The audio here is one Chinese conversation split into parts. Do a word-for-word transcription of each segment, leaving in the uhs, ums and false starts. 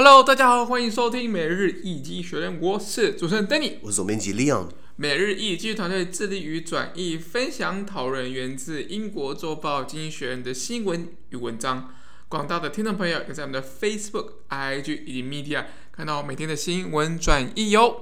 Hello， 大家好，歡迎收聽每日一經濟學人，我是主持人 Danny， 我是總編輯 Leon。 每日一經濟團隊致力於轉譯、分享、討論源自英國週報《經濟學人》的新聞與文章。廣大的聽眾朋友可以在我們的 Facebook、I G 以及 Media 看到每天的新聞轉譯喲。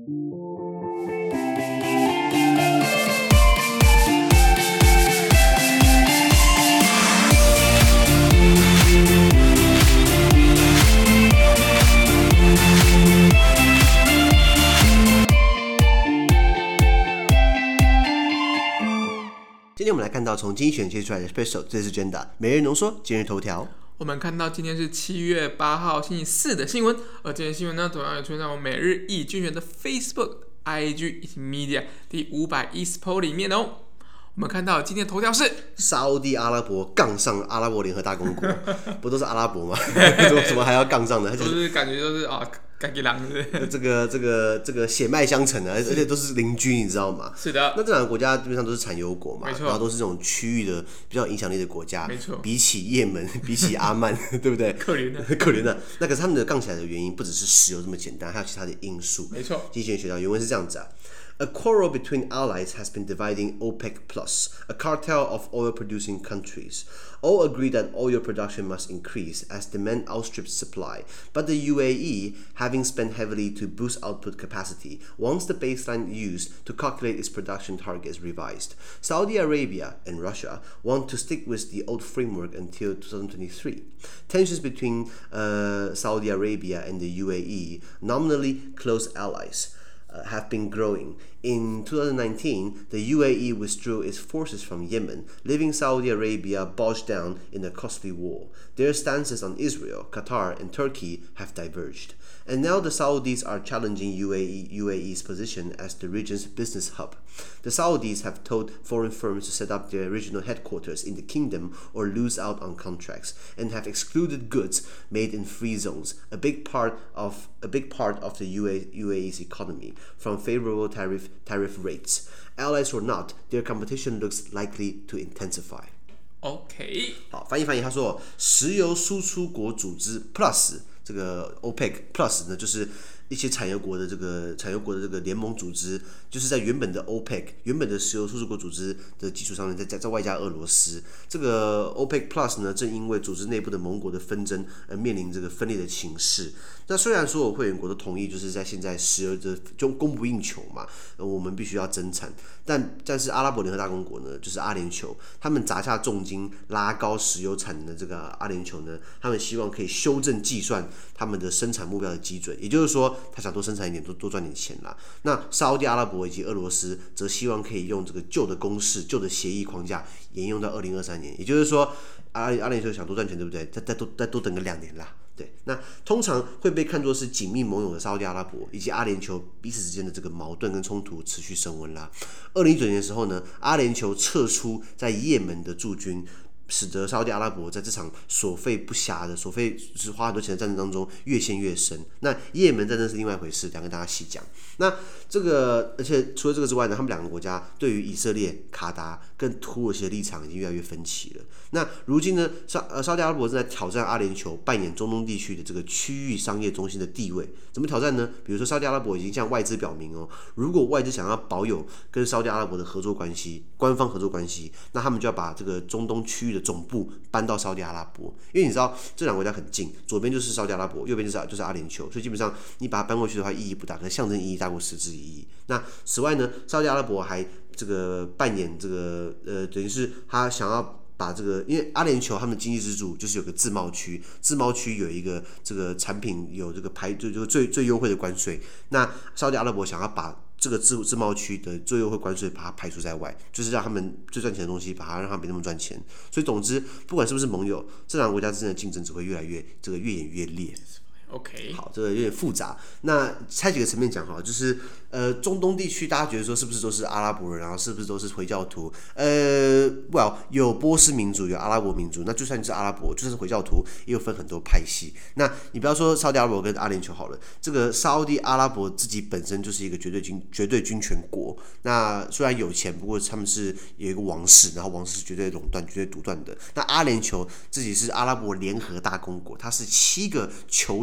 今天我們來看到從經濟學人切出來的 Special 這次 Agenda 每日濃縮今日頭條。 我們看到今天是七月八號星期四的新聞，而這些新聞呢，同樣也出現在我們每日一經濟學人的 Facebook、I G 以及 Media 第五百一十 po 裡面哦。我們看到今天的頭條是沙烏地阿拉伯槓上阿拉伯聯合大公國，不都是阿拉伯嗎？怎麼還要槓上呢？ 就是感覺就是啊。 這個這個這個血脈相承的，而且都是鄰居，你知道嗎？是的。那這兩個國家基本上都是產油國嘛，然後都是這種區域的比較有影響力的國家。沒錯。比起也門，比起阿曼，對不對？可憐的，可憐的。那可是他們的槓起來的原因不只是石油這麼簡單，還有其他的因素。沒錯。經濟學人學到原文是這樣子啊。A quarrel between allies has been dividing OPEC Plus, a cartel of oil-producing countries. All agree that oil production must increase as demand outstrips supply, but the U A E, having spent heavily to boost output capacity, wants the baseline used to calculate its production targets revised. Saudi Arabia and Russia want to stick with the old framework until twenty twenty-three. Tensions between uh, Saudi Arabia and the U A E, nominally close allies, Uh, have been growing. In twenty nineteen, the U A E withdrew its forces from Yemen, leaving Saudi Arabia bogged down in a costly war. Their stances on Israel, Qatar, and Turkey have diverged. And now the Saudis are challenging U A E, U A E's position as the region's business hub. The Saudis have told foreign firms to set up their regional headquarters in the kingdom or lose out on contracts, and have excluded goods made in free zones, a big part of a big part of the U A, U A E's economy, from favorable tariff tariff rates. Allies or not, their competition looks likely to intensify. OK， 好，翻譯翻譯，他說，石油輸出國組織 Plus 這個 OPEC Plus 呢，就是一些產油國的這個產油國的這個聯盟組織，就是在原本的 OPEC 原本的石油輸出國組織的基礎上面，再再外加俄羅斯。這個 OPEC Plus 呢，正因為組織內部的盟國的紛爭而面臨這個分裂的情勢。那雖然所有會員國都同意，就是在現在石油的就供不應求嘛，我們必須要增產，但但是阿拉伯聯合大公國呢，就是阿聯酋，他們砸下重金拉高石油產能的這個阿聯酋呢，他們希望可以修正計算他們的生產目標的基準，也就是說，他想多生產一點，多多賺點錢啦。那沙烏地阿拉伯以及俄羅斯則希望可以用這個舊的公式、舊的協議框架沿用到二零二三年，也就是說，阿阿聯酋想多賺錢，對不對？再再多再多等個兩年啦。對，那通常會被看作是緊密盟友的沙烏地阿拉伯以及阿聯酋彼此之間的這個矛盾跟衝突持續升溫啦。二零一九年的時候呢，阿聯酋撤出在也門的駐軍，使得沙烏地阿拉伯在這場所費不暇的、所費就是花很多錢的戰爭當中越陷越深。那也門戰爭是另外一回事，兩個大家細講。那這個，而且除了這個之外呢，他們兩個國家對於以色列、卡達跟土耳其的立場已經越來越分歧了。那如今呢，沙呃沙烏地阿拉伯正在挑戰阿聯酋扮演中東地區的這個區域商業中心的地位。怎麼挑戰呢？比如說沙烏地阿拉伯已經向外資表明哦，如果外資想要保有跟沙烏地阿拉伯的合作關係、官方合作關係，那他們就要把這個中東區域的總部搬到沙烏地阿拉伯。因為你知道這兩個國家很近，左邊就是沙烏地阿拉伯，右邊就是就是阿聯酋，所以基本上你把它搬過去的話意義不大，可是象徵意義大過實質意義。那此外呢，沙烏地阿拉伯還這個扮演這個呃，等於是他想要把這個，因為阿聯酋他們的經濟支柱就是有個自貿區，自貿區有一個這個產品有這個排就就最最優惠的關稅。那沙烏地阿拉伯想要把這個自自貿區的最優惠關稅把它排除在外，就是讓他們最賺錢的東西，把它讓他們沒那麼賺錢。所以總之，不管是不是盟友，這兩個國家之間的競爭只會越來越這個越演越烈。OK， 好，這個有點複雜。那拆幾個層面講好了，就是呃，中東地區大家覺得說是不是都是阿拉伯人，然後是不是都是回教徒？呃 ，Well， 有波斯民族，有阿拉伯民族。那就算你是阿拉伯，就算是回教徒，也有分很多派系。那你不要說沙烏地阿拉伯跟阿聯酋好了，這個沙烏地阿拉伯自己本身就是一個絕對軍絕對軍權國。那雖然有錢，不過他們是有一個王室，然後王室是絕對壟斷、絕對獨斷的。那阿聯酋自己是阿拉伯聯合大公國，它是七個酋長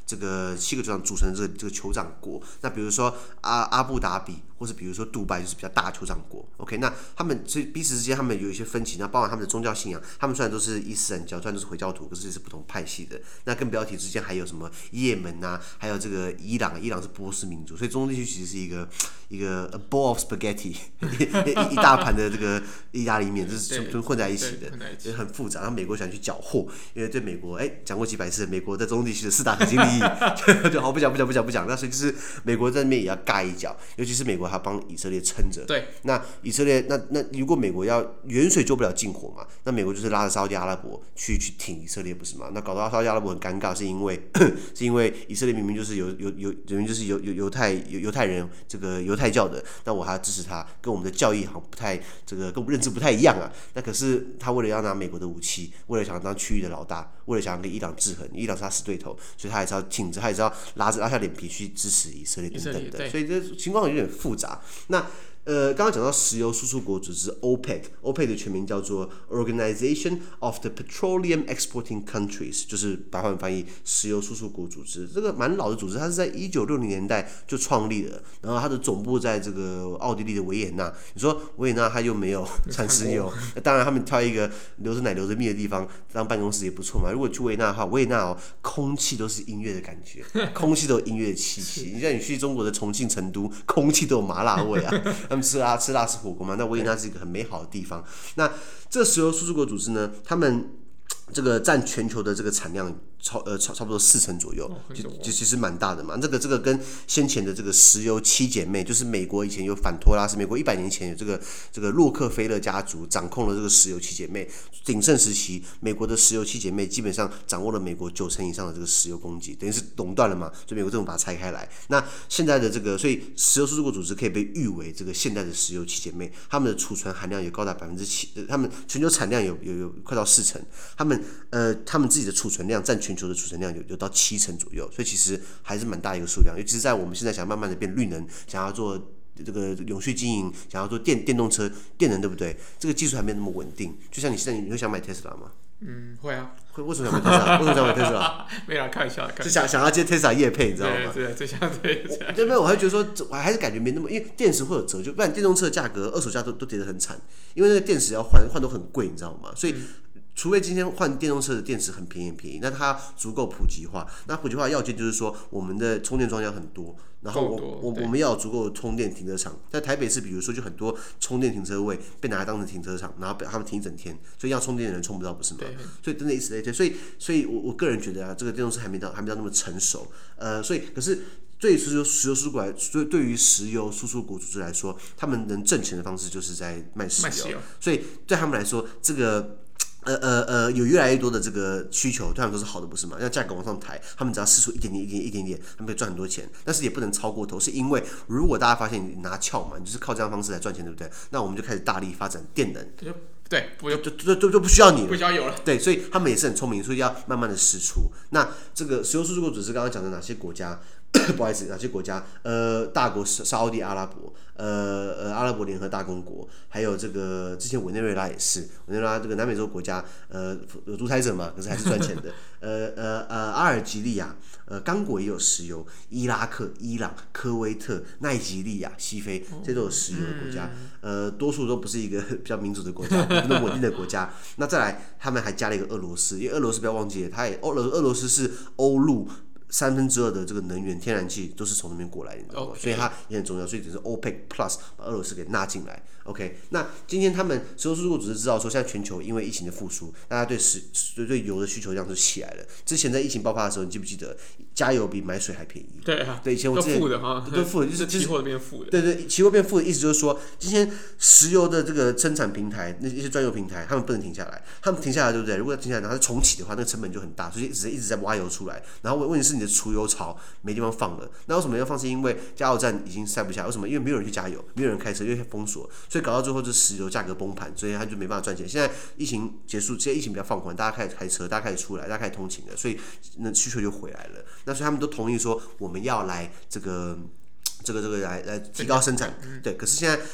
這個七個酋長組成的這個這個酋長國。那比如說阿阿布達比，或是比如說杜拜，就是比較大的酋長國。OK， 那他們所以彼此之間他們有一些分歧，那包含他們的宗教信仰，他們雖然都是伊斯蘭教，雖然都是回教徒，可是也是不同派系的。那更不要提之間還有什麼也門啊，還有這個伊朗，伊朗是波斯民族，所以中東地區其實是一個一個 a bowl of spaghetti， 一, 一大盤的這個意大利麵，就是全混在一起的，就是很複雜。然後美國想去繳獲，因為對美國，哎，講過幾百次，美國在中東地區的四大核心利益，就好不講不講不講不講。那所以就是美國在那邊也要蓋一腳，尤其是美國還要幫以色列撐着。 對，那以色列那那如果美國要遠水救不了近火嘛，那美國就是拉着沙烏地阿拉伯去去挺以色列，不是嗎？那搞到沙烏地阿拉伯很尷尬，是因為是因為以色列明明就是有有有明明就是有有猶太猶太人這個猶太教的，那我還要支持他，跟我們的教義好像不太這個跟我們認知不太一樣啊。那可是他為了要拿美國的武器，為了想當區域的老大，為了想要跟伊朗制衡，伊朗是他死對頭，所以他還是要挺着，他還是要拉着拉下臉皮去支持以色列等等的，所以這情況有點複雜。那呃，剛剛講到石油輸出國組織 OPEC，OPEC 的全名叫做 Organization of the Petroleum Exporting Countries， 就是白話文翻譯石油輸出國組織。這個蠻老的組織，它是在一九六零年代就創立的，然後它的總部在這個奧地利的維也納。你說維也納它又沒有產石油，當然他們挑一個流着奶流着蜜的地方當辦公室也不錯嘛。如果去維也納的話，維也納哦，空氣都是音樂的感覺，空氣都有音樂的氣息。你像你去中國的重慶、成都，空氣都有麻辣味啊。他們吃辣吃辣吃火鍋嘛，那維也納是一個很美好的地方。那這個石油輸出國組織呢，他們這個佔全球的這個產量超呃差差不多四成左右，就就其實蠻大的嘛。這個這個跟先前的這個石油七姐妹，就是美國以前有反托拉斯，美國一百年前有這個這個洛克菲勒家族掌控了這個石油七姐妹鼎盛時期，美國的石油七姐妹基本上掌握了美國九成以上的這個石油供給，等於是壟斷了嘛。所以美國政府把它拆開來。那現在的這個，所以石油輸出國組織可以被譽為這個現代的石油七姐妹，他們的儲存含量有高達百分之七，他們全球產量有有有快到四成，他們呃他們自己的儲存量佔全球的儲存量有有到七成左右，所以其實還是蠻大一個數量。尤其是在我們現在想慢慢的變綠能，想要做這個永續經營，想要做電電動車、電能，對不對？這個技術還沒有那麼穩定。就像你現在，你會想買 Tesla 嗎？ 嗯，會啊。 會為什麼想買 Tesla？ 為什麼想買 Tesla？ 沒啦，開玩笑，是想想要接 Tesla 業配，你知道嗎？ 對，對，這樣對。 對，沒有，我還覺得說，我還是感覺沒那麼，因為電池會有折舊，不然電動車的價格、二手價都都跌得很慘，因為那個電池要換換都很貴，你知道嗎？所以。嗯，除非今天換電動車的電池很便宜很便宜，那它足夠普及化。那普及化的要件就是說，我們的充電樁要很多，然後我我我們要有足夠的充電停車場。在台北市，比如說就很多充電停車位被拿來當成停車場，然後他們停一整天，所以要充電的人充不到，不是嗎？所以真的以此類推，所以所以我我個人覺得啊，這個電動車還沒到還沒到那麼成熟。呃，所以可是。對於石油石油輸出國來，對對於石油輸出國組織來說，他們能掙錢的方式就是在賣石油，賣石油。所以對他們來說，這個呃呃呃有越來越多的這個需求，對他們都是好的，不是嗎？讓價格往上抬，他們只要釋出一點點、一點點、一點點，他們可以賺很多錢。但是也不能超過頭，是因為如果大家發現你拿翹嘛，你就是靠這樣的方式來賺錢，對不對？那我們就開始大力發展電能。 對，不用就就就就不需要你了， 不需要有了。 對，所以他們也是很聰明，所以要慢慢的釋出。那這個石油輸出國組織剛剛講的哪些國家？不好意思，哪些國家？呃，大國沙烏地阿拉伯，呃呃，阿拉伯聯合大公國，還有這個之前委內瑞拉也是，委內瑞拉這個南美洲國家，呃，有獨裁者嘛，可是還是賺錢的。呃呃呃，阿爾及利亞，呃，剛果也有石油，伊拉克、伊朗、科威特、奈及利亞、西非，這都有石油的國家。呃，多數都不是一個比較民主的國家，不是那麼穩定的國家。那再來，他們還加了一個俄羅斯，因為俄羅斯不要忘記了，它也俄羅俄羅斯是歐陸三分之二的這個能源天然氣都是從那邊過來的，你知道嗎？ Okay. 所以它也很重要，所以只是 OPEC Plus 把俄羅斯給納進來。OK， 那今天他們石油輸出國組織知道說，現在全球因為疫情的復甦，大家對石對對油的需求量就起來了。之前在疫情爆發的時候，你記不記得加油比買水還便宜？ 對啊， 對，以前我之前都負的哈， 都負的，就是期貨變負的。 對對，期貨變負的意思就是說，今天石油的這個生產平台，那一些專用平台，他們不能停下來，他們停下來對不對？如果要停下來，然後重啟的話，那個成本就很大，所以一直一直在挖油出來。然後問題是你的儲油槽沒地方放了，那為什麼要放？是因為加油站已經塞不下，為什麼？因為沒有人去加油，沒有人開車，因為封鎖，所以搞到最後就石油價格崩盤，所以他就沒辦法賺錢。現在疫情結束，現在疫情比較放緩，大家開始開車，大家開始出來，大家開始通勤了，所以那需求就回來了。那所以他們都同意說，我們要來這個這個這個來來提高生產，對。可是現在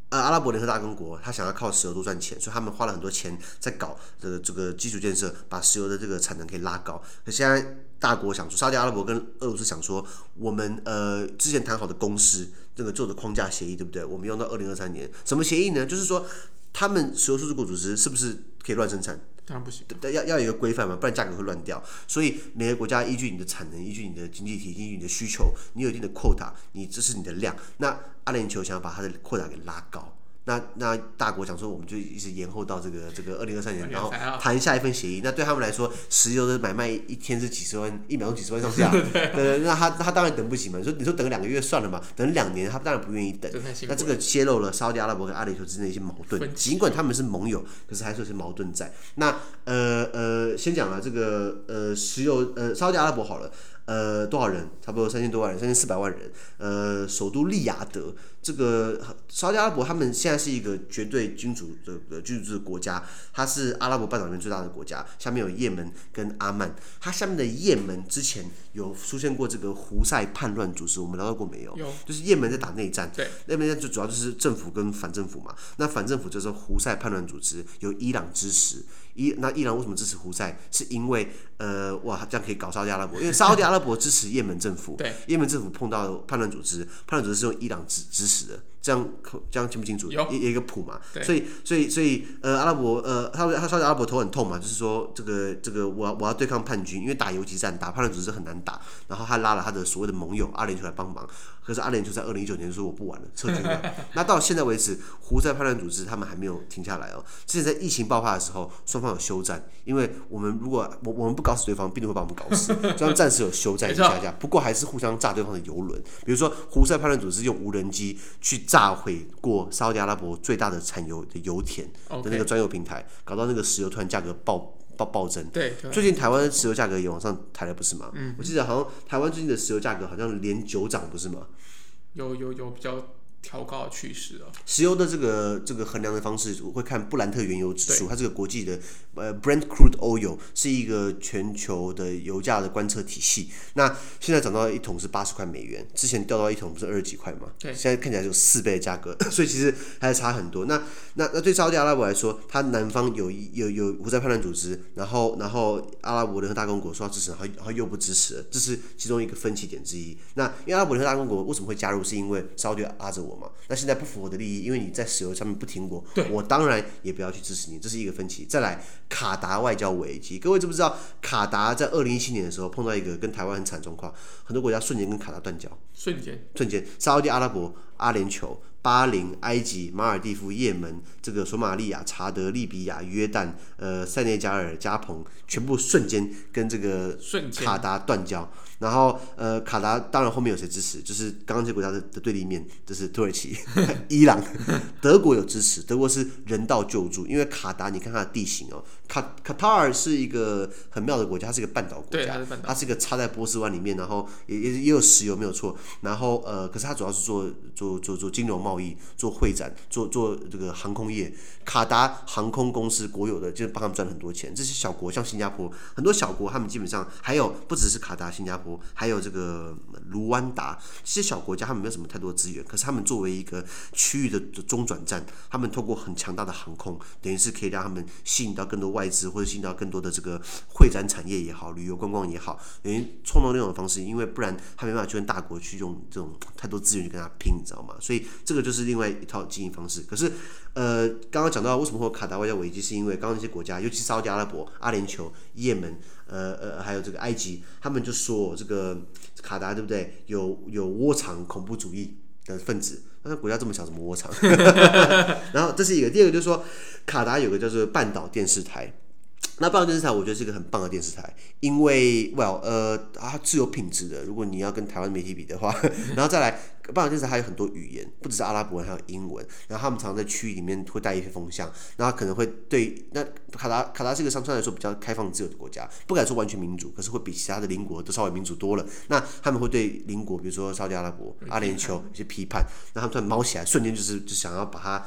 呃，阿拉伯聯合大公國，他想要靠石油多賺錢，所以他們花了很多錢在搞這個這個基礎建設，把石油的這個產能可以拉高。可現在大國想說，沙特阿拉伯跟俄羅斯想說，我們呃之前談好的公式，這個做的框架協議，對不對？我們用到二零二三年，什麼協議呢？就是說，他們石油輸出國組織是不是可以亂生產？ 當然不行， 要要有一個規範嘛，不然價格會亂掉。所以每個國家依據你的產能，依據你的經濟體，依據你的需求，你有一定的 quota， 你這是你的量。那阿聯酋想要把它的 quota 給拉高。那那大國講說，我們就一直延後到這個這個二零二三年，然後談下一份協議。那對他們來說，石油的買賣一天是幾十萬，一秒鐘幾十萬上下。對, 對，那他他當然等不起嘛。你說你說等個兩個月算了嘛，等兩年他當然不願意等。那這個揭露了沙特阿拉伯跟阿聯酋之間的一些矛盾。儘管他們是盟友，可是還是有些矛盾在。那呃呃，先講了這個呃石油呃沙特阿拉伯好了。呃，多少人？差不多三千多萬人，三千四百萬人。呃，首都利雅得，這個沙特阿拉伯他們現在是一個絕對君主的君主制的國家，它是阿拉伯半島裡面最大的國家，下面有也門跟阿曼。它下面的也門之前有出現過這個胡塞叛亂組織，我們聊到過沒有？ 有。就是也門在打內戰， 對， 那邊就主要就是政府跟反政府嘛。那反政府就是胡塞叛亂組織，由伊朗支持。伊那伊朗為什麼支持胡塞？是因為呃哇，這樣可以搞沙特阿拉伯，因為沙特阿拉伯支持也門政府，也門政府碰到叛亂組織，叛亂組織是用伊朗支支持的，這樣這樣清不清楚？有有一個譜嘛，所以所以所以呃阿拉伯呃他他沙特阿拉伯頭很痛嘛，就是說這個這個我要我要對抗叛軍，因為打游擊戰打叛亂組織很難打，然後他拉了他的所謂的盟友阿聯酋來幫忙，可是阿聯酋在二零一九年說我不玩了，撤軍了。那到現在為止，胡塞叛亂組織他們還沒有停下來哦。之前在疫情爆發的時候，雙方有休戰，因為我們如果我我們不搞死對方，病毒會把我們搞死，所以他們暫時有休戰一下下。不過還是互相炸對方的油輪，比如說胡塞叛亂組織用無人機去炸毀過沙特阿拉伯最大的產油的油田的那個專用平台，搞到那個石油突然價格爆。暴暴增， 對， 最近台灣石油價格也往上抬了，不是嗎？嗯，我記得好像台灣最近的石油價格好像連九漲，不是嗎？ 有有有比較調高的趨勢哦。石油的這個這個衡量的方式，我會看布蘭特原油指數，它這個國際的呃 Brent Crude Oil 是一個全球的油價的觀測體系。那現在漲到一桶是八十塊美元，之前掉到一桶不是二十幾塊嗎？對，現在看起來有四倍的價格，所以其實還是差很多。那那那對沙特阿拉伯來說，它南方有有有胡塞叛亂組織，然後然後阿拉伯聯合大公國說要支持，然後然後又不支持了，這是其中一個分歧點之一。那因為阿拉伯聯合大公國為什麼會加入，是因為沙特拉着我嘛？那現在不符合我的利益，因為你在石油上面不挺我，我當然也不要去支持你，這是一個分歧。再來，卡達外交危機，各位知不知道？卡達在二零一七年的時候碰到一個跟台灣很慘的狀況，很多國家瞬間跟卡達斷交， 瞬間， 瞬間，沙特阿拉伯、阿聯酋、巴林、埃及、馬爾地夫、也門、這個索馬利亞、查德、利比亞、約旦、呃塞內加爾、加蓬，全部瞬間跟這個卡達斷交。然後呃，卡達當然後面有誰支持？就是剛剛這些國家的的對立面，就是土耳其、伊朗、德國有支持。德國是人道救助，因為卡達你看它的地形哦，卡卡塔爾是一個很妙的國家，它是一個半島國家，它是, 它是一個插在波斯灣裡面，然後也也也有石油沒有錯。然後呃，可是它主要是做做做做金融貿易、做會展、做做這個航空業。卡達航空公司國有的，就是幫他們賺很多錢。這些小國像新加坡，很多小國他們基本上還有不只是卡達、新加坡。還有這個盧灣達，這些小國家他們沒有什麼太多資源，可是他們作為一個區域的中轉站，他們透過很強大的航空，等於是可以讓他們吸引到更多外資，或者吸引到更多的這個會展產業也好，旅遊觀光也好，等於創造那種方式，因為不然他沒辦法去跟大國去用這種太多資源去跟他拼，你知道嗎？所以這個就是另外一套經營方式。可是呃，剛剛講到為什麼會有卡達外交危機，是因為剛剛那些國家，尤其是沙特阿拉伯、阿聯酋、也門。呃呃，還有這個埃及，他們就說這個卡達對不對？有有窩藏恐怖主義的分子，那國家這麼小，怎麼窩藏？然後這是一個，第二個就是說，卡達有個叫做半島電視台。那半島電視台我覺得是一個很棒的電視台，因為 well 呃它是有品質的。如果你要跟台灣媒體比的話，然後再來半島電視台還有很多語言，不只是阿拉伯文，還有英文。然後他們常常在區域裡面會帶一些風向，然後可能會對那卡達卡達是一個相對來說比較開放自由的國家，不敢說完全民主，可是會比其他的鄰國都稍微民主多了。那他們會對鄰國，比如說沙特阿拉伯、阿聯酋有些批判，然後他們突然毛起來，瞬間就是就想要把它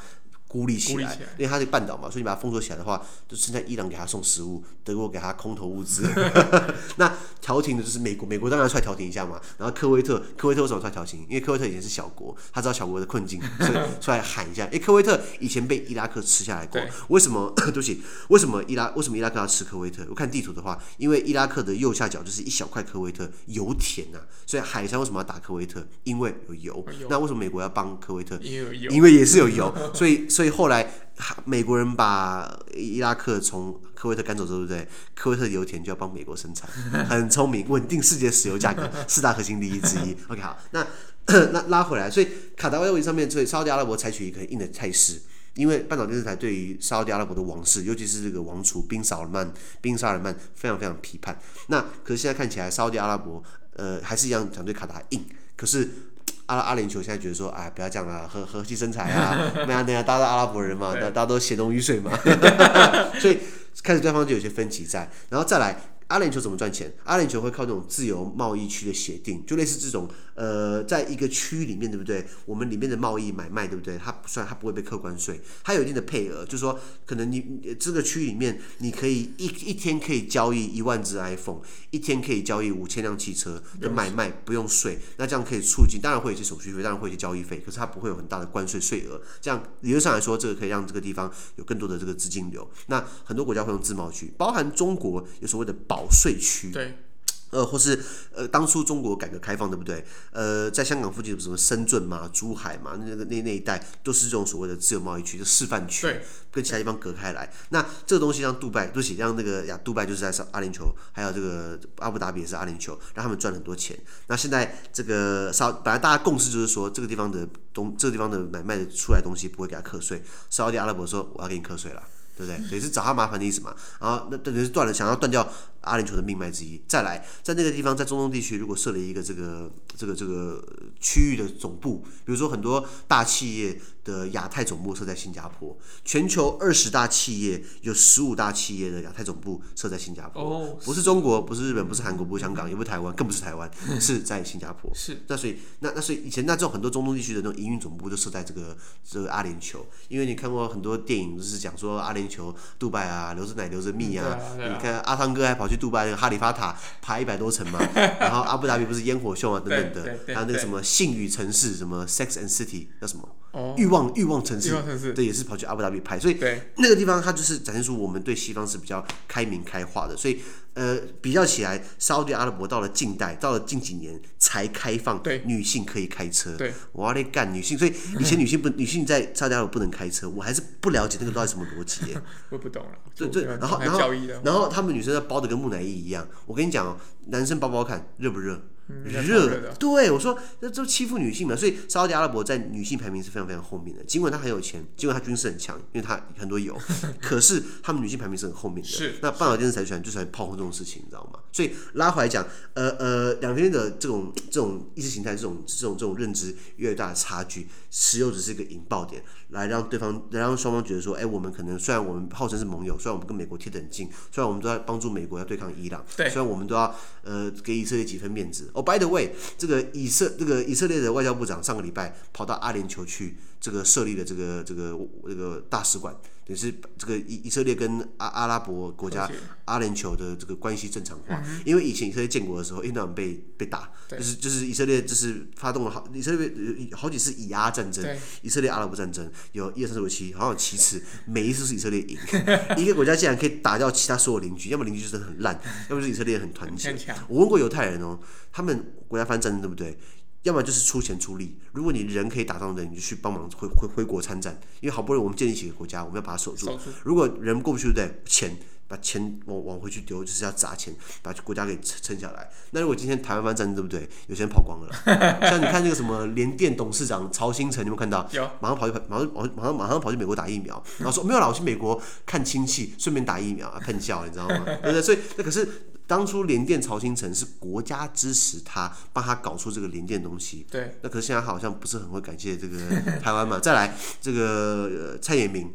孤立起來， 起來因為它是半島嘛，所以你把它封鎖起來的話，就剩下伊朗給他送食物，德國給他空投物資。那調停的就是美國，美國當然出來調停一下嘛。然後科威特，科威特為什麼出來調停？因為科威特以前是小國，他知道小國的困境，所以出來喊一下。因為科威特以前被伊拉克吃下來過，為什麼？對不起，為什麼伊拉為什麼伊拉克要吃科威特？我看地圖的話，因為伊拉克的右下角就是一小塊科威特油田啊，所以海珊為什麼要打科威特？因為有油。有那為什麼美國要幫科威特？因為有油，因為也是有油，所以所以後來。美國人把伊拉克從科威特趕走之後，對不對？科威特油田就要幫美國生產，很聰明，穩定世界石油價格，四大核心利益之一。OK， 好，那那拉回来，所以卡達外交問題上面，所以沙烏地阿拉伯採取一個很硬的態勢，因為半島電視台對於沙烏地阿拉伯的王室，尤其是這個王儲賓薩爾曼，賓薩爾曼非常非常批判。那可是現在看起來，沙烏地阿拉伯呃還是一樣想對卡達硬，可是。阿阿聯酋現在覺得說，哎，不要這樣啦，和和氣生財啊，那樣那樣，大家都阿拉伯人嘛，大家都血濃於水嘛，所以開始對方就有些分歧在，然後再來。阿聯酋怎麼賺錢？阿聯酋會靠這種自由貿易區的協定，就類似這種呃，在一個區裡面，對不對？我們裡面的貿易買賣，對不對？它不算，它不會被課關稅，它有一定的配額，就是說，可能你這個區裡面，你可以一一天可以交易一萬只 iPhone， 一天可以交易五千輛汽車的買賣，不用稅。那這樣可以促進，當然會有一些手續費，當然會有一些交易費，可是它不會有很大的關稅稅額。這樣理論上來說，這個可以讓這個地方有更多的這個資金流。那很多國家會用自貿區，包含中國有所謂的保稅區。 對， 呃，或是呃，當初中國改革開放，對不對？呃，在香港附近有什麼深圳嘛、珠海嘛，那個那那一帶都是這種所謂的自由貿易區，就示範區，跟其他地方隔開來。那這個東西讓杜拜，對不起，讓那個呀，杜拜就是在阿聯酋，還有這個阿布達比也是阿聯酋，讓他們賺很多錢。那現在這個沙，本來大家共識就是說，這個地方的東，這個地方的買賣的出來的東西不會給他課稅。沙烏地阿拉伯說，我要給你課稅了。對不對？也是找他麻煩的意思嘛。然後那等於是斷了，想要斷掉阿聯酋的命脈之一。再來，在那個地方，在中東地區，如果設了一個這個這個這個區域的總部，比如說很多大企業的亞太總部設在新加坡，全球二十大企業有十五大企業的亞太總部設在新加坡，哦、不是中國，不是日本，不是韓國，不是香港，也不是台灣，更不是台灣，是在新加坡。是。那所以那那所以以前那這種很多中東地區的那種營運總部就設在這個這個阿聯酋，因為你看過很多電影，就是講說阿聯酋、杜拜啊，流着奶流着蜜啊，嗯啊啊、你看阿湯哥還跑去杜拜那個哈利法塔爬一百多層嘛，然後阿布達比不是煙火秀啊等等的，還有那個什麼性與城市，什麼 Sex and City 叫什麼？哦、欲望欲望城市，對，也是跑去阿布達比拍，所以那個地方它就是展現出我們對西方是比較開明開化的，所以呃比較起來，沙烏地阿拉伯到了近代，到了近幾年才開放女性可以開車，對，我要來幹女性，所以以前女性不女性在沙烏地阿拉伯不能開車，我還是不了解那個到底什麼邏輯耶， 我不懂了， 對對，然後然後然後他們女生要包的跟木乃伊一樣，我跟你講哦，男生包包看熱不熱？熱，對我說，那就欺負女性嘛，所以沙烏地阿拉伯在女性排名是非常非常後面的。儘管他很有錢，儘管他軍事很強，因為他很多油，可是他們女性排名是很後面的。是，那半島電視台就喜歡炮轟這種事情，你知道嗎？所以拉回來講，呃呃，兩邊的這種這種意識形態、這種這種這種認知越來越大的差距，石油只是一個引爆點，來讓對方，來讓雙方覺得說，哎，我們可能雖然我們號稱是盟友，雖然我們跟美國貼得很近，雖然我們都在幫助美國要對抗伊朗，雖然我們都要呃給以色列幾分面子。Oh, by the way， 這個以色這個以色列的外交部長上個禮拜跑到阿聯酋去，這個設立了這個這個這個大使館，也是這個以以色列跟阿阿拉伯國家阿聯酋的這個關係正常化。嗯、因為以前以色列建國的時候，一直被被打，就是就是以色列就是發動了好以色列好幾次以阿戰爭，以色列阿拉伯戰爭有一二三四五七，好像有七次，每一次是以色列贏。一個國家竟然可以打掉其他所有鄰居，要麼鄰居就是很爛，要麼就是以色列很團結。我問過猶太人哦，他們國家發生戰爭對不對？要麼就是出錢出力，如果你人可以打仗的，你就去幫忙回回回國參戰，因為好不容易我們建立起一個國家，我們要把它守住。守住如果人過不去，對不對？錢把錢往往回去丟，就是要砸錢把國家給撐下來。那如果今天台灣發生戰爭，對不對？有些人跑光了啦，像你看那個什麼聯電董事長曹興誠，你有沒有看到？有，馬上跑去馬上馬上馬上跑去美國打疫苗，然後說沒有啦，我去美國看親戚，順便打疫苗，噴笑，你知道嗎？對不對？所以那可是。當初聯電曹興誠是國家支持他，幫他搞出這個聯電東西。對。那可是現在好像不是很會感謝這個台灣嘛。再來，這個、呃、蔡衍明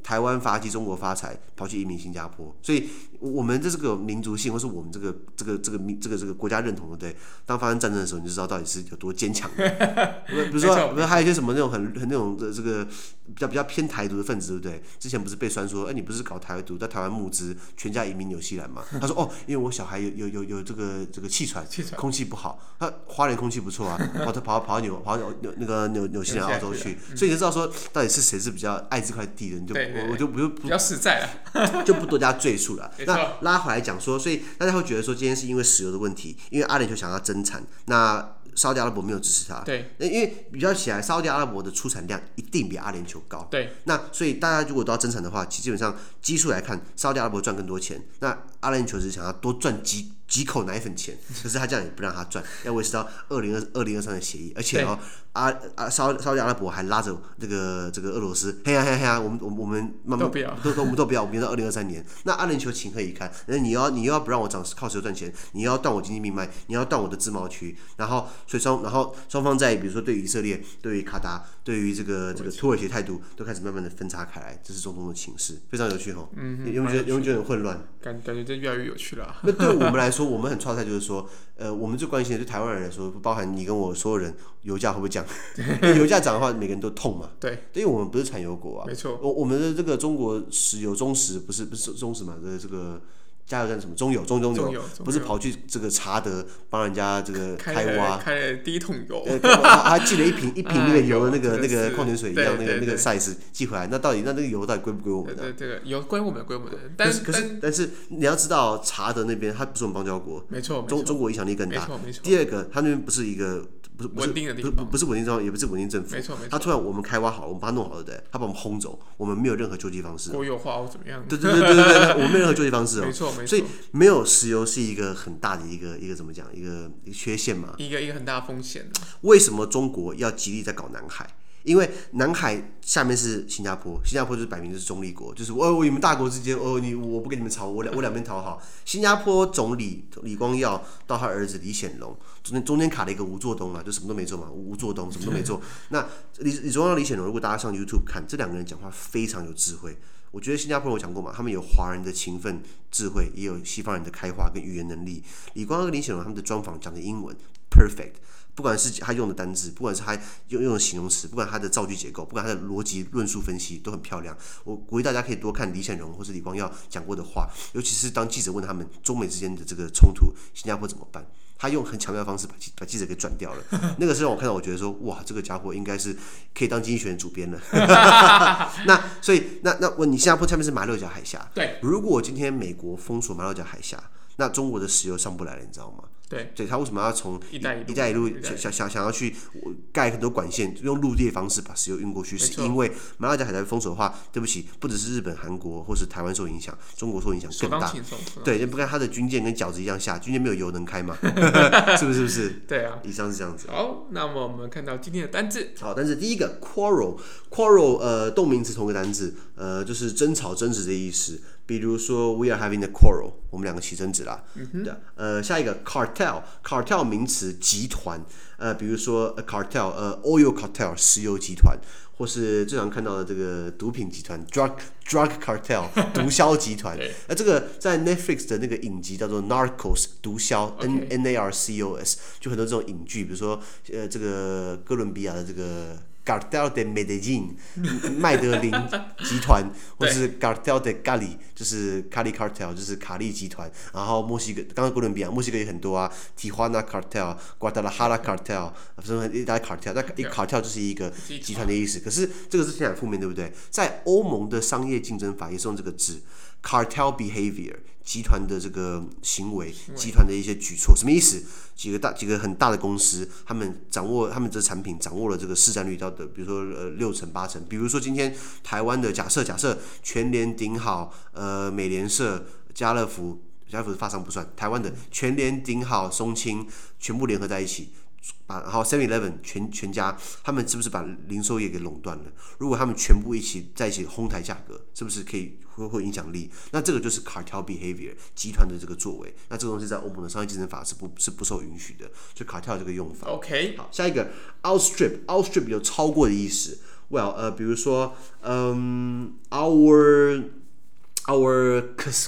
台灣發跡，中國發財，跑去移民新加坡，所以我們這是個民族性，或是我們這個這個這個這個這個國家認同，對不對？當發生戰爭的時候，你就知道到底是有多堅強。比如說，比如還有一些什麼那種很很那種的這個比較比較偏台獨的分子，對不對？之前不是被酸說，哎，你不是搞台獨，在台灣募資，全家移民紐西蘭嘛？他說，哦，因為我小孩有有有有這個這個氣喘，空氣不好，他花蓮空氣不錯啊，跑他跑跑到紐跑到紐那個紐紐西蘭澳洲去，所以你就知道說到底是誰是比較愛這塊地的，你就我我就不就不比較實在了， 就不多加赘述了。那拉回來講說，所以大家會覺得說，今天是因為石油的問題，因為阿聯酋想要增產，那沙特阿拉伯沒有支持他。 對， 因為比較起來，沙特阿拉伯的出產量一定比阿聯酋高。 對， 那所以大家如果都要增產的話，其實基本上基數來看，沙特阿拉伯賺更多錢，那阿聯酋只是想要多賺幾幾口奶粉錢，可是他這樣也不讓他賺，要維持到二零二二零二三的協議，而且哦，阿阿沙沙特阿拉伯還拉着這個這個俄羅斯，嘿呀嘿呀嘿呀，我們我們我們慢慢都不要，都都我們都不要，我們到二零二三年，那阿聯酋情何以堪？那你要你又要不讓我漲靠石油賺錢，你又要斷我經濟命脈，你要斷我的自貿區，然後所以雙然後雙方在比如說對於以色列、對於卡達、對於這個這個土耳其的態度都開始慢慢的分叉開來，這是中東的情勢，非常有趣哈。嗯，有沒有覺得有沒有覺得很混亂？ 感感覺這越來越有趣了、啊。 那對我們來說，我們很挫敗，就是說，呃，我們最關心的對台灣人來說，包含你跟我所有人，油價會不會降？油價漲的話，每個人都痛嘛。對，因為我們不是產油國啊。沒錯。我我們的這個中國石油中石不是不是中石嘛？這這個。加油站什麼中油中中油，不是跑去這個查德幫人家這個開挖， 開了第一桶油， 他寄了一瓶一瓶那個油的那個那個礦泉水一樣那個那個 size 寄回來，那到底那那個油到底歸不歸我們的？ 這個油歸我們歸我們的，但是可是但是你要知道查德那邊它不是我們邦交國， 沒錯， 中中國影響力更大。第二個，它那邊不是一個。不是不是穩定的地方，不是穩定政府，也不是穩定政府。沒錯没錯。他突然我們開挖好了，我們把它弄好了的，他把我們轟走，我們沒有任何救濟方式。 國有化或怎麼樣？ 對對對對對，我們沒有任何救濟方式哦。 沒錯沒錯。 所以沒有石油是一個很大的一個一個怎麼講一個一個缺陷嘛？ 一個一個很大的風險。 為什麼中國要極力在搞南海？因為南海下面是新加坡，新加坡就是擺明就是中立國，就是哦，你們大國之間哦，你我不跟你們吵，我兩我兩邊討好。新加坡總理李光耀到他兒子李顯龍，中間中間卡了一個吳作東啊，就什麼都沒做嘛，吳作東什麼都沒做。那李李光耀、李顯龍，如果大家上 YouTube 看，這兩個人講話非常有智慧。我覺得新加坡我講過嘛，他們有華人的勤奮智慧，也有西方人的開化跟語言能力。李光耀跟李顯龍他們的專訪講的英文 perfect。不管是他用的單字，不管是他用用的形容詞，不管他的造句結構，不管他的邏輯論述分析，都很漂亮。我鼓勵大家可以多看李顯龍或是李光耀講過的話，尤其是當記者問他們中美之間的這個衝突，新加坡怎麼辦？他用很巧妙的方式把記把記者給轉掉了。那個是讓我看到，我覺得說，哇，這個家伙應該是可以當經濟學人主編了。那所以那那我你新加坡下面是馬六甲海峽，對，如果今天美國封鎖馬六甲海峽，那中國的石油上不來了，你知道嗎？對，所以他為什麼要從一帶一,一路想想想要去蓋很多管線，用陸地的方式把石油運過去？是因為馬六甲海峽封鎖的話，對不起，不只是日本、韓國或是台灣受影響，中國受影響更大。對，不看他的軍艦跟餃子一樣下，軍艦沒有油能開嗎？是不是？是不是？對啊，以上是這樣子。好，那麼我們看到今天的單字。好，單字第一個 quarrel，quarrel 呃動名詞同個單字，呃就是爭吵、爭執的意思。比如說 ，we are having a quarrel， 我們兩個起爭執啦。嗯、對，呃，下一個 cartel，cartel 名詞集團，呃，比如說 a cartel， 呃 ，oil cartel 石油集團，或是最常看到的這個毒品集團 drug drug cartel 毒梟集團。那這個在 Netflix 的那個影集叫做 Narcos 毒梟 N N A R C O S， 就很多這種影劇，比如說呃這個哥倫比亞的這個。Cartel de Medellín 麥德林集團，或是 Cartel de Cali 就是 Cali Cartel 就是卡利集團，然後墨西哥剛剛哥倫比亞墨西哥也很多啊 Tijuana Cartel、Guadalajara Cartel， 什麼一大堆 Cartel， 那一 Cartel 就是一個集團的意思。可是這個是聽起來負面，對不對？在歐盟的商業競爭法也是用這個字 Cartel Behavior， 集團的這個行為，集團的一些舉措，什麼意思？幾個大幾個很大的公司，他們掌握他們這產品掌握了這個市占率到的，比如說呃六成八成。比如說今天台灣的假設假設全聯、頂好、呃美聯社、家樂福，家樂福的發商不算，台灣的全聯、頂好、松青全部聯合在一起。把然後 seven eleven 全全家，他們是不是把零售業給壟斷了？如果他們全部一起在一起哄抬價格，是不是可以會會影響力？那這個就是 cartel behavior 集團的這個作為。那這個東西在歐盟的商業競爭法是不是不受允許的？就 cartel 這個用法。OK， 好，下一個 outstrip outstrip 有超過的意思。 Well， 呃，比如說，嗯、um, ，our our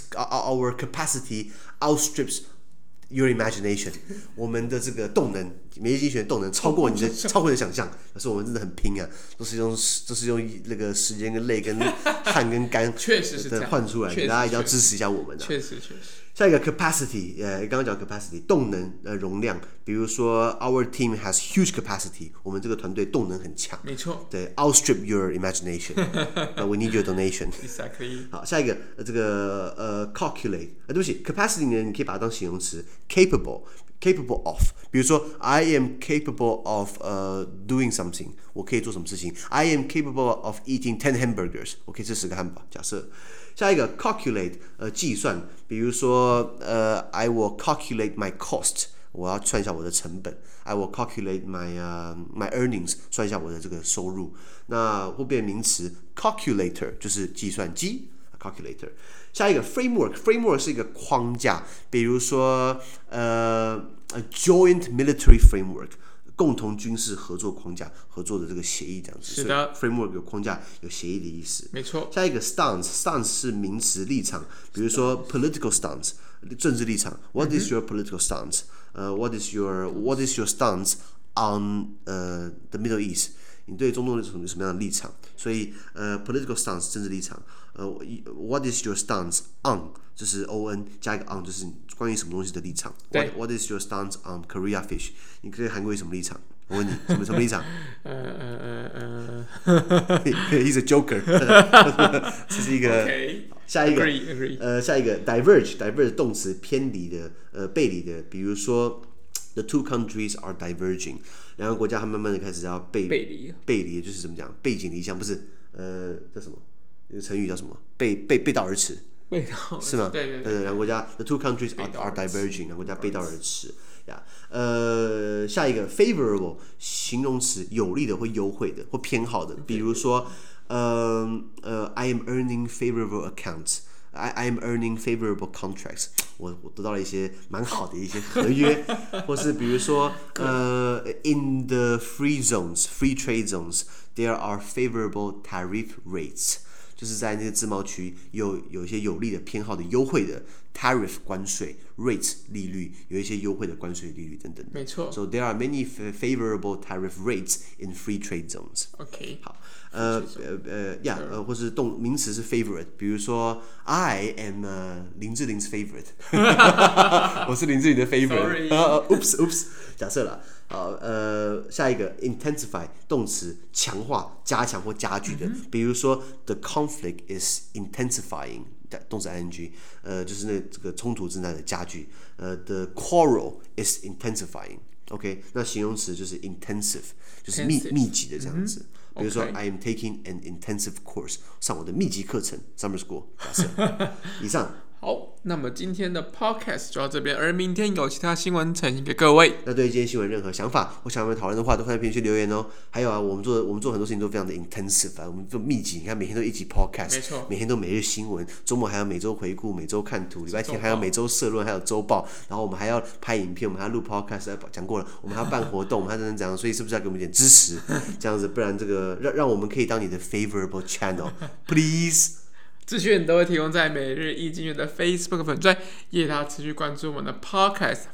our capacity outstrips your imagination 我們的這個動能，免疫精學動能超過你的超過你的想象，可是我們真的很拼啊，都是用都是用那個時間跟淚跟汗跟肝確實是這樣換出來，大家一定要支持一下我們的、啊。 確實確實。 下一個 capacity， 呃，剛剛講 capacity 動能呃容量，比如說 our team has huge capacity， 我們這個團隊動能很強。 沒錯。對 ，outstrip your imagination 。uh, we need your donation。Exactly。好，下一個呃這個呃 calculate， 呃對不起 ，capacity 呢，你可以把它當形容詞 ，capable。capable of， 比如說 I am capable of 呃、uh, doing something， 我可以做什麼事情 ？I am capable of eating ten hamburgers， 我可以吃十個漢堡。假設下一個 calculate， 呃計算，比如說呃 I will calculate my cost， 我要算一下我的成本。I will calculate my、uh, my earnings， 算一下我的這個收入。那會變名詞 calculator， 就是計算機。calculator， 下一個 framework，framework 是一個框架，比如說呃 a joint military framework， 共同軍事合作框架，合作的這個協議這樣子。 是的 ，framework 有框架有協議的意思。 沒錯。下一個 stance，stance 是名詞立場，比如說 political stance 政治立場。What is your political stance？ 呃、uh, ，What is your What is your stance on 呃、uh, the Middle East？你對中東有什麼樣的立場？所以呃 ，political stance 政治立場。呃 ，What is your stance on？ 就是 on 加一個 on， 就是關於什麼東西的立場。What What is your stance on Korea fish？ 你對韓國有什麼立場？我問你，什麼什麼立場？呃呃呃呃，He's a joker 。這是一個。Okay. 下一個 agree, agree. 呃，下一個 diverge，diverge 動詞偏離的，呃，背離的，比如說。The two countries are diverging， 兩個國家它慢慢的開始要背背離， 背離就是怎麼講？背井離鄉不是？呃，叫什麼？有個成語叫什麼？背背背道而馳， 背道是嗎？ 對對對， 兩個國家 The two countries are are diverging， 兩個國家背道而馳呀。呃，下一個 favorable 形容詞，有利的或優惠的或偏好的，比如說，呃呃 ，I am earning favorable accounts。I I am earning favorable contracts 我。我得到了一些蠻好的一些合約，或是比如說，呃 ，in the free zones, free trade zones, there are favorable tariff rates， 就是在那個自貿區有有一些有利的、偏好的、優惠的 tariff 關稅 rates 利率，有一些優惠的關稅利率等等。 沒錯。 So there are many favorable tariff rates in free trade zones. OK。 好。呃呃呃呀，呃，或是動名詞是 favorite， 比如說 I am、uh, 林志玲 's favorite， 我是林志玲的 favorite。Oops oops， 假設啦，好，呃，下一個 intensify 動詞強化、加強或加劇的，嗯、比如說 the conflict is intensifying， 動詞 ing， 呃，就是那這個衝突正在的加劇，呃 the quarrel is intensifying。OK， 那形容詞就是 intensive， 就是密密集的這樣子。嗯比如說 ，I am taking an intensive course， 上我的密集課程 ，summer school。假設，以上。 好，那麼今天的 podcast 就到這邊，而明天有其他新聞呈現給各位。 那對於今天新聞任何想法或想要我們討論的話，都歡迎在評論區留言哦。還有啊，我們做我們做很多事情都非常的 intensive 啊，我們做密集，你看每天都一集 podcast， 沒錯， 每天都每日新聞，周末還有每周回顧、每周看圖，禮拜天還有每周社論，還有周報，然後我們還要拍影片，我們還要錄 podcast， 講過了，我們還要辦活動，我們還能怎樣？所以是不是要給我們一點支持？這樣子，不然這個讓讓我們可以當你的 favorable channel，please。 資訊都會提供在每日一經濟的 Facebook 粉專，也大家持續關注我們的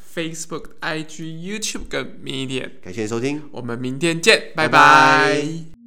Podcast、Facebook、I G、YouTube 跟 Medium。 感謝收聽， 我們明天見，拜拜。 拜拜。